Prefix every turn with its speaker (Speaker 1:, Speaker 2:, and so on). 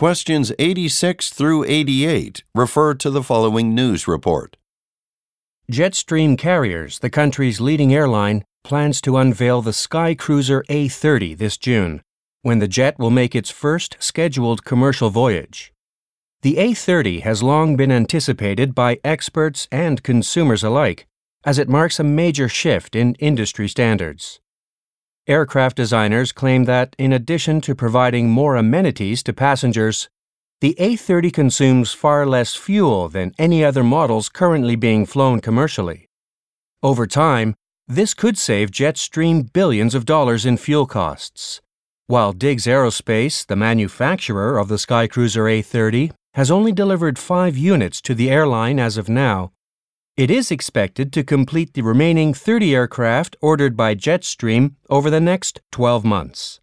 Speaker 1: Questions 86 through 88 refer to the following news report.
Speaker 2: Jetstream Carriers, the country's leading airline, plans to unveil the SkyCruiser A30 this June, when the jet will make its first scheduled commercial voyage. The A30 has long been anticipated by experts and consumers alike, as it marks a major shift in industry standards. Aircraft designers claim that, in addition to providing more amenities to passengers, the A30 consumes far less fuel than any other models currently being flown commercially. Over time, this could save Jetstream billions of dollars in fuel costs. While Diggs Aerospace, the manufacturer of the SkyCruiser A30, has only delivered 5 units to the airline as of now, it is expected to complete the remaining 30 aircraft ordered by Jetstream over the next 12 months.